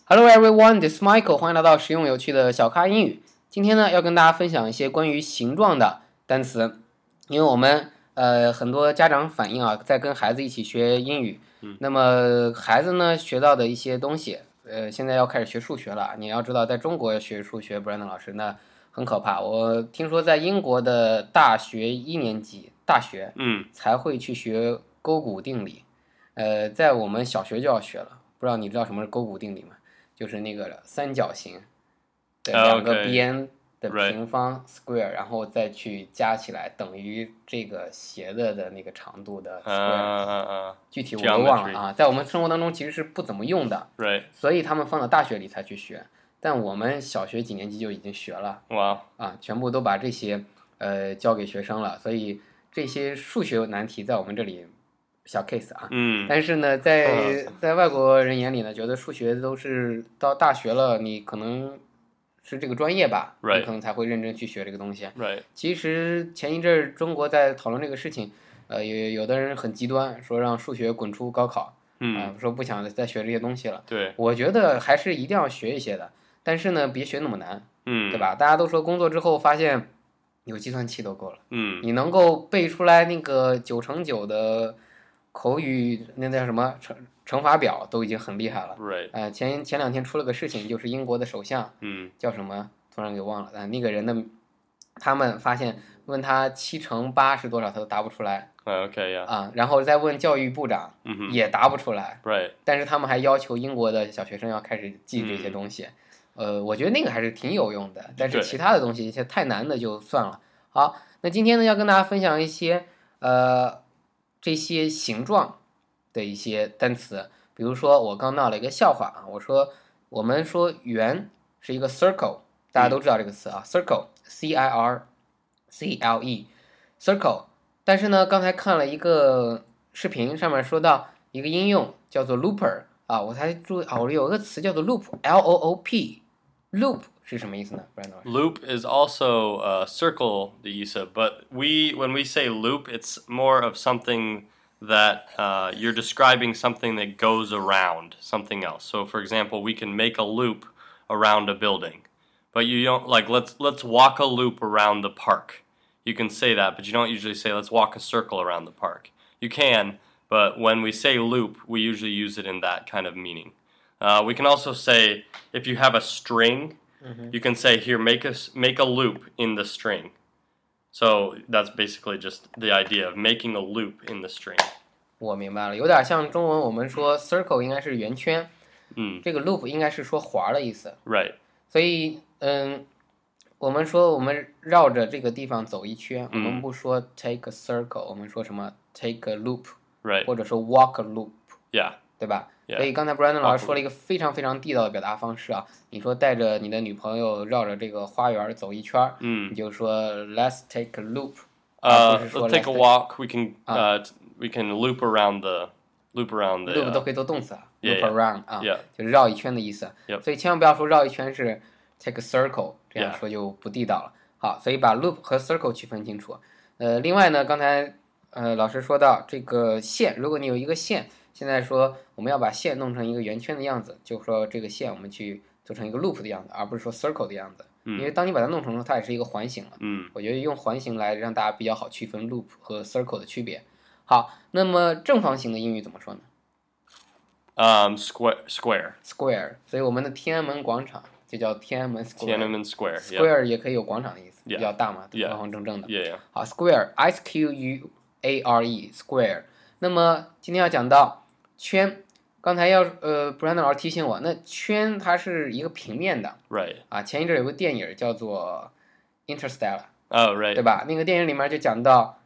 Hello everyone, this is Michael. 欢迎来到实用有趣的小咖英语。今天呢，要跟大家分享一些关于形状的单词，因为我们很多家长反映啊，在跟孩子一起学英语，那么孩子呢学到的一些东西，现在要开始学数学了。你要知道，在中国学数学，Brandon 老师那很可怕。我听说在英国的大学1年级大学，才会去学勾股定理，在我们小学就要学了。不知道你知道什么是勾股定理吗？就是那个三角形的两个边的平方 square， 然后再去加起来等于这个斜的那个长度的 square。具体我都忘了啊，在我们生活当中其实是不怎么用的，所以他们放到大学里才去学。但我们小学几年级就已经学了，全部都把这些教给学生了，所以这些数学难题在我们这里小 case 啊，但是呢，在外国人眼里呢，觉得数学都是到大学了，你可能是这个专业吧，你可能才会认真去学这个东西。其实前一阵中国在讨论这个事情，有的人很极端，说让数学滚出高考，说不想再学这些东西了。 对， 我觉得还是一定要学一些的，但是呢，别学那么难，对吧？大家都说工作之后发现有计算器都够了，你能够背出来那个9×9的口语那叫什么乘法表都已经很厉害了。前2天出了个事情，就是英国的首相，叫什么突然给忘了，那个人的他们发现问他7×8是多少，他都答不出来。然后再问教育部长，也答不出来。但是他们还要求英国的小学生要开始记这些东西。我觉得那个还是挺有用的，但是其他的东西一些太难的就算了。好，那今天呢要跟大家分享一些这些形状的一些单詞，比如说我刚闹了一个笑话啊，我们说圆是一个 circle， 大家都知道这个词啊，circle C-I-R-C-L-E circle， 但是呢刚才看了一个视频，上面说到一个应用叫做 looper 啊，我才注意我有个词叫做 loop L-O-O-P loop 是什么意思呢？ Loop is also circle 的意思 but when we say loop it's more of something that you're describing something that goes around something else. So for example, we can make a loop around a building, but you don't like let's walk a loop around the park. You can say that, but you don't usually say let's walk a circle around the park. You can, but when we say loop, we usually use it in that kind of meaning. We can also say if you have a string, you can say here make a loop in the string. So that's basically just the idea of making a loop in the string. 我明白了，有点像中文我们说 circle 应该是圆圈，这个 loop 应该是说环的意思。所以我们说我们绕着这个地方走一圈，我们不说 take a circle， 我们说什么 take a loop， 或者说 walk a loop， 对吧？所以刚才 Brandon 老师说了一个非常非常地道的表达方式啊，你说带着你的女朋友绕着这个花园走一圈，你就说 let's take a loop， let's take a walk. We can loop around the loop 都可以做动词啊 ，loop around 就是绕一圈的意思。所以千万不要说绕一圈是 take a circle， 这样说就不地道了。好，所以把 loop 和 circle 区分清楚。另外呢，刚才老师说到这个线，如果你有一个线。现在说我们要把线弄成一个圆圈的样子，就说这个线我们去做成一个 loop 的样子，而不是说 circle 的样子。因为当你把它弄成它也是一个环形了。我觉得用环形来让大家比较好区分 loop 和 circle 的区别。好，那么正方形的英语怎么说呢 ？Square。 所以我们的天安门广场就叫天安门 Square。 Square 也可以有广场的意思，比较大嘛，方方正正的。好 ，Square S-Q-U-A-R-E Square。那么今天要讲到圈，刚才Brandon 老师提醒我，那圈它是一个平面的，前一阵有个电影叫做 Interstellar， 对吧？那个电影里面就讲到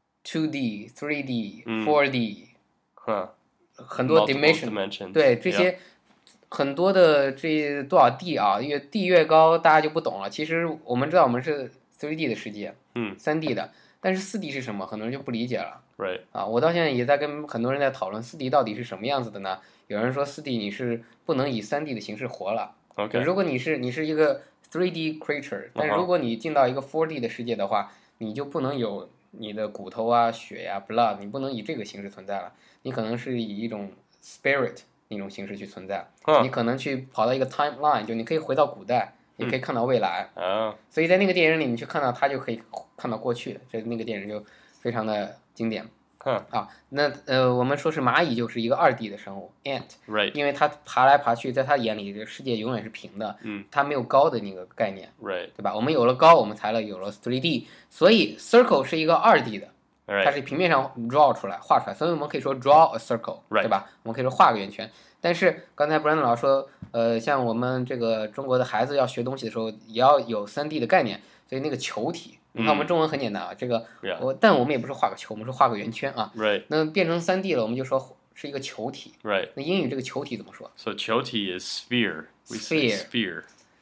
2D、3D、4D， 很多 dimension， 对这些很多的这多少 D 啊，越 D 越高，大家就不懂了。其实我们知道我们是 3D 的世界，3D 的，但是4D 是什么？很多人就不理解了。我到现在也在跟很多人在讨论 4D 到底是什么样子的呢？有人说 4D 你是不能以 3D 的形式活了。如果你是一个 3D creature， 但是如果你进到一个 4D 的世界的话，你就不能有你的骨头啊、血呀、blood， 你不能以这个形式存在了。你可能是以一种 spirit 那种形式去存在。 Huh. 你可能去跑到一个 timeline，就你可以回到古代，也可以看到未来。 Oh. 所以在那个电影里，你去看到它就可以看到过去，那个电影就非常的经典。 Huh. 啊，那我们说是蚂蚁就是一个2D 的生物 ant， Right. 因为它爬来爬去，在它眼里这个世界永远是平的，它没有高的那个概念， Right. 对吧？我们有了高，我们才有了 3D， 所以 circle 是一个2D 的， Right. 它是平面上 draw 出来画出来，所以我们可以说 draw a circle， Right. 对吧？我们可以说画个圆圈。但是刚才 Brandon 老师说，像我们这个中国的孩子要学东西的时候，也要有3D 的概念，所以那个球体。你看我们中文很简单啊，这个 Yeah. 但我们也不是画个球，我们是画个圆圈啊。 Right. 那变成3D 了，我们就说是一个球体。 Right. 那英语这个球体怎么说 So 球体 is sphere. We say sphere.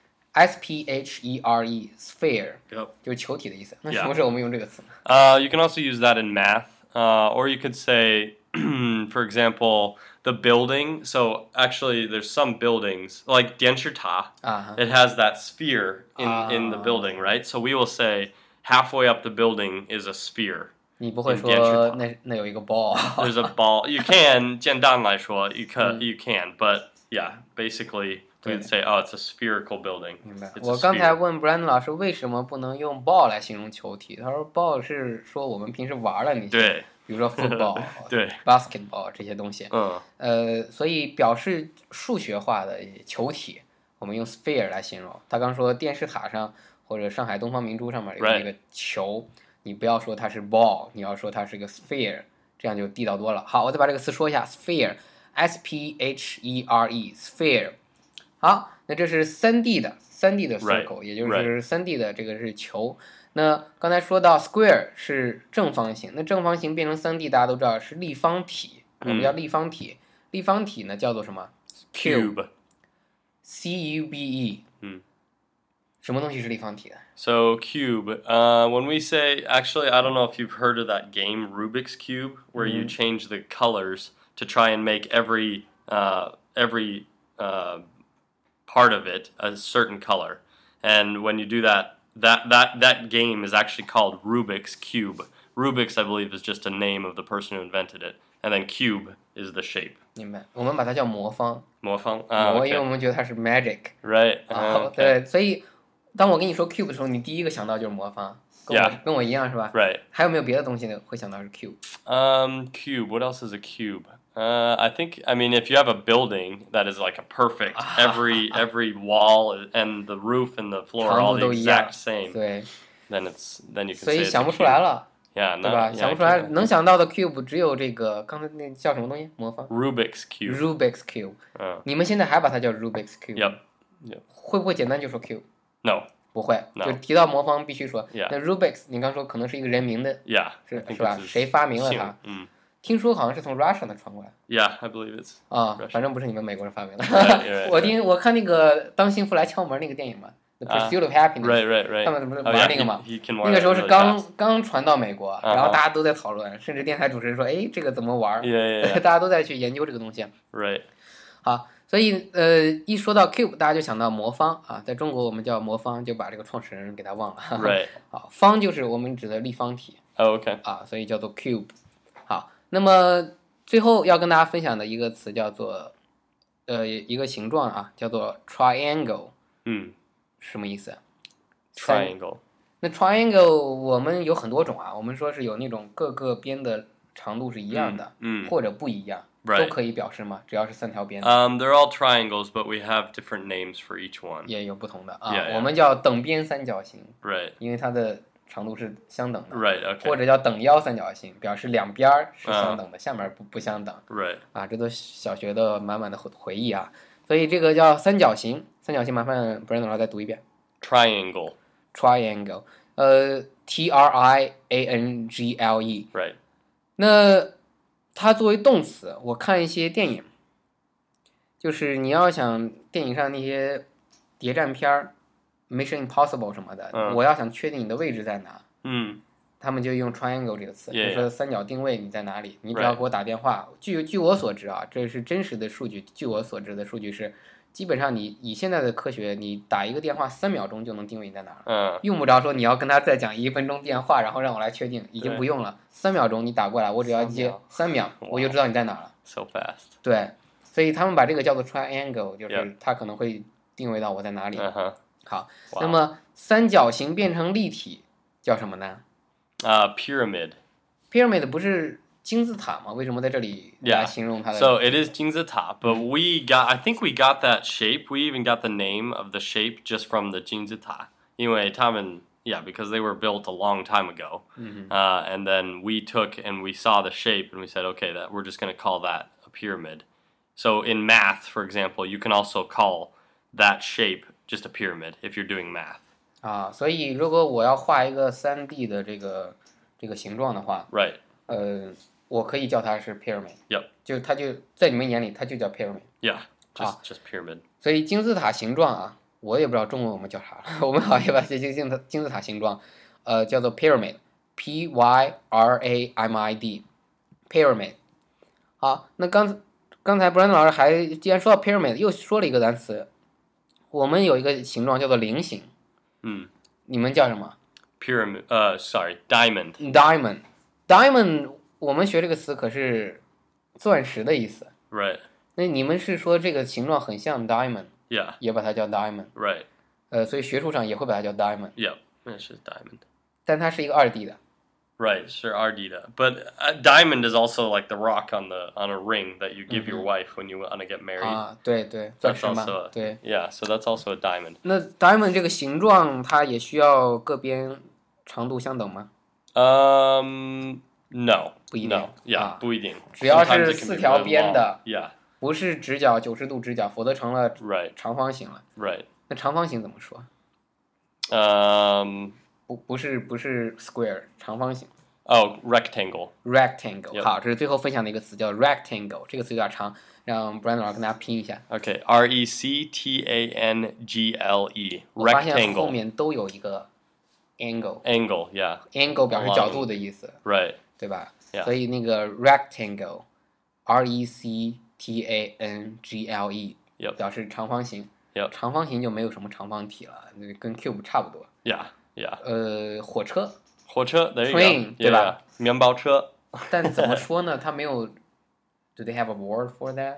？sphere sphere Yep. 就是球体的意思。那 Yeah. 什么时候我们用这个词呢？ You can also use that in math, or you could say, for example, the building. So actually, there's some buildings like 电视塔. 啊 It has that sphere in the building, right? So we will say halfway up the building is a sphere. 你不会电视说塔那有一个 ball。 There's a ball. You can 简单来说 you can, but yeah, basically we would say, oh, it's a spherical building. 明白。 It's a 我刚才 sphere. 问 Brandon 老师为什么不能用 ball 来形容球体，他说 ball 是说我们平时玩的那些， 对， 比如说 football 对 basketball 这些东西。 嗯所以表示数学化的球体，我们用 sphere 来形容。他刚说电视塔上或者上海东方明珠上面有那个球，你不要说它是 ball， 你要说它是个 sphere， 这样就地道多了。好，我再把这个词说一下 sphere sphere sphere。好，那这是3D 的circle， 也就是 3D 的这个是球。那刚才说到 square 是正方形，那正方形变成3D， 大家都知道是立方体，我们叫立方体。立方体呢叫做什么 Cube. cube。什么东西是立方体的？ So cube. When we say, actually, I don't know if you've heard of that game Rubik's Cube, where you change the colors to try and make every part of it a certain color. And when you do that, that game is actually called Rubik's Cube. Rubik's, I believe, is just a name of the person who invented it, and then cube is the shape. 明白，我们把它叫魔方。 魔方， 因为我们觉得它是 magic。 Right. 对，所以当我跟你说 cube 的时候，你第一个想到就是魔方，跟我一样是吧？ Right. 还有没有别的东西呢会想到是 cube？ Cube. What else is a cube? I mean, if you have a building that is like a perfect, every wall and the roof and the floor are all the exact same, 对， then you can 所 say 以 it's 想不 a 出来 cube. 了， Yeah, 对吧？ no, 想不 yeah, 出来， cube. 能想到的 cube 只有这个刚才那叫什么东西？魔方 Rubik's cube. Rubik's cube。你们现在还把它叫 Rubik's cube？ Yep. 会不会简单就说 cube？ No. 不会， No. 就提到魔方必须说。 Yeah. 那 Rubik's 你刚说可能是一个人名的， Yeah. 是 I think 吧？ it's 谁发明了它？听说好像是从 Russia 的传过来。 Yeah, I believe it's. 反正不是你们美国人发明的。 Right. 我看那个当幸福来敲门那个电影嘛，《The Pursuit of Happiness》。 Right. 他们不是 Oh, 玩 yeah, 那个嘛？ he can 那个时候是 really 刚 fast. 传到美国，然后大家都在讨论，甚至电台主持人说：“哎，这个怎么玩？” Yeah. 大家都在去研究这个东西。 Right. 好，所以一说到 cube， 大家就想到魔方啊，在中国我们叫魔方，就把这个创始人给他忘了。 Right. 好，方就是我们指的立方体 Oh, okay. 啊，所以叫做 cube。好，那么最后要跟大家分享的一个词叫做一个形状啊，叫做 triangle。什么意思 Triangle. 那 triangle 我们有很多种啊，我们说是有那种各个边的长度是一样的，或者不一样，都可以表示吗？只要是3条边。 They're all triangles, but we have different names for each one. 也有不同的啊。 Yeah. 我们叫等边三角形， Right. 因为它的长度是相等的。 Right. Okay. 或者叫等腰三角形，表示两边是相等的，下面不相等。 Right. 啊，这都小学的满满的回忆啊。所以这个叫三角形，三角形麻烦 Brandon 老师再读一遍。 Triangle. Triangle，triangle。 Right. 那它作为动词，我看一些电影，就是你要想电影上那些谍战片儿 ，Mission Impossible 什么的，我要想确定你的位置在哪，他们就用 triangle 这个词，就说三角定位你在哪里，你只要给我打电话。据我所知啊，这是真实的数据。据我所知的数据是，基本上你以现在的科学，你打一个电话3秒钟就能定位你在哪儿，用不着说你要跟他再讲1分钟电话，然后让我来确定，已经不用了，3秒钟你打过来，我只要接3秒，我就知道你在哪儿了。 So fast. 对， 所以他们把这个叫做 triangle， 就 Yeah. 是它可能会定位到我在哪里。 Uh-huh. 好， Wow. 那么三角形变成立体叫什么呢？ Pyramid. pyramid 不是金字塔吗？为什么在这里来 Yeah. 形容它的 So it is 金字塔, but I think we got that shape. We even got the name of the shape just from the 金字塔，因为他们 because they were built a long time ago. And then we took and we saw the shape and we said, okay, that we're just going to call that a pyramid. So in math, for example, you can also call that shape just a pyramid if you're doing math. 啊？所以如果我要画一个3D 的这个形状的话， Right. 我可以叫它是 pyramid， Yep. 就它就在你们眼里它就叫 pyramid。 Yeah. Just pyramid. 所以金字塔形状啊，我也不知道中文我们叫啥了，我们好像把这金字塔形状，叫做 pyramid，pyramid，pyramid。好，那刚才 Brandon 老师还既然说到 pyramid， 又说了一个单词，我们有一个形状叫做菱形，你们叫什么 Pyramid. Sorry, diamond. ？diamond，我们学这个词可是钻石的意思。 Right. 那你们是说这个形状很像 diamond， Yeah. 也把它叫 diamond， Right. 所以学术上也会把它叫 diamond， Yep. It's just diamond. 但它是一个2D 的。 Right, sure, Ardita. But diamond is also like the rock on a ring that you give your wife when you want to get married. 啊，对，钻 That's 石嘛 also 对。 yeah, so that's also a diamond. 那 diamond 这个形状，它也需要各边长度相等吗？ No. 不一定 No. Yeah, 啊， 不一定。 只要 Sometimes 是 it can 4 be 条 really 边 long. 的， Yeah, 不是直角90度直角，否则成了 right, 长方形了。 right. 那长方形怎么说？ Um, 不是 square， 长方形 oh, rectangle. rectangle。 Yep. 好，这是最后分享的一个词叫 rectangle， 这个词有点长，让 Brandon 老师跟大家拼一下。 Okay, rectangle. 我发现后 Rectangle. 面都有一个 angle，angle Angle, yeah. 表示角度的意思， Right. 对吧？ Yeah. 所以那个 rectangle，rectangle， Yep. 表示长方形。 Yep. 长方形就没有什么长方体了，跟 cube 差不多。 Yeah, yeah. 火车， 火车 there you Train, go. 对 Yeah, 吧？ yeah. 面包车。 但怎么说呢？它没有。Do they have a word for that?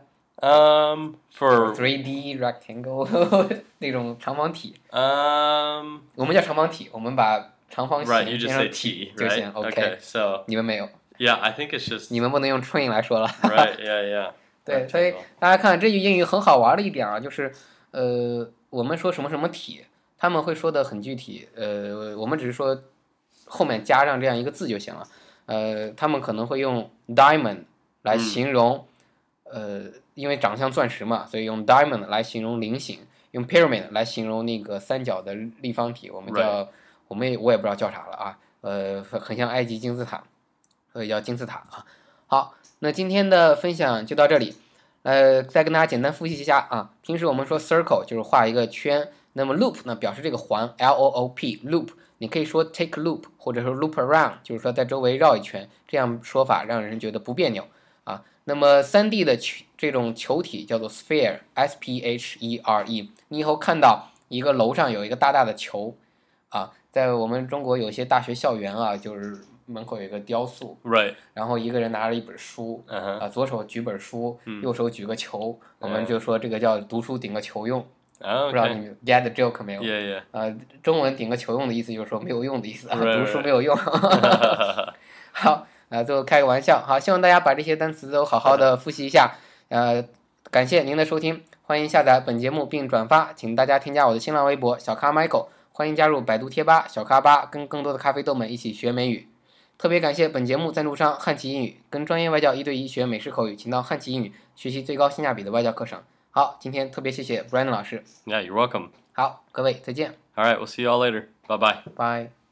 For 3D rectangle 那种长方体， um 我们叫长方体，我们把长方形 right, you 变 just 成 say 体 T, 就 right? 行。 Okay, so 你们没有， yeah, I think it's just 你们不能用 train 来说了。 right, yeah, yeah. 对，所以大家看这句英语很好玩的一点啊，就是我们说什么什么体，他们会说的很具体，我们只是说后面加上这样一个字就行了。他们可能会用 diamond 来形容，因为长得像钻石嘛，所以用 diamond 来形容菱形，用 pyramid 来形容那个三角的立方体，我们叫我也不知道叫啥了啊，很像埃及金字塔，所以叫金字塔啊。好，那今天的分享就到这里。再跟大家简单复习一下啊。平时我们说 circle 就是画一个圈，那么 loop 呢表示这个环 ，loop loop， 你可以说 take loop 或者说 loop around， 就是说在周围绕一圈，这样说法让人觉得不别扭啊。那么3D 的这种球体叫做 sphere，sphere， 你以后看到一个楼上有一个大大的球啊，在我们中国有些大学校园啊，就是门口有一个雕塑， right. 然后一个人拿着一本书，左手举本书，右手举个球，我们就说这个叫读书顶个球用。 Oh, 不知道你 okay. 们 get the joke 没有？ Yeah, yeah. 中文顶个球用的意思就是说没有用的意思啊， Right, 读书没有用。好，最后开个玩笑，好，希望大家把这些单词都好好的复习一下。感谢您的收听，欢迎下载本节目并转发，请大家添加我的新浪微博小咖 Michael， 欢迎加入百度贴吧小咖吧，跟更多的咖啡豆们一起学美语。特别感谢本节目赞助商汉奇英语，跟专业外教1对1学美式口语，请到汉奇英语学习最高性价比的外教课程。好，今天特别谢谢 Brandon 老师。 Yeah, you're welcome. 好，各位再见。 All right, we'll see you all later. Bye-bye. Bye。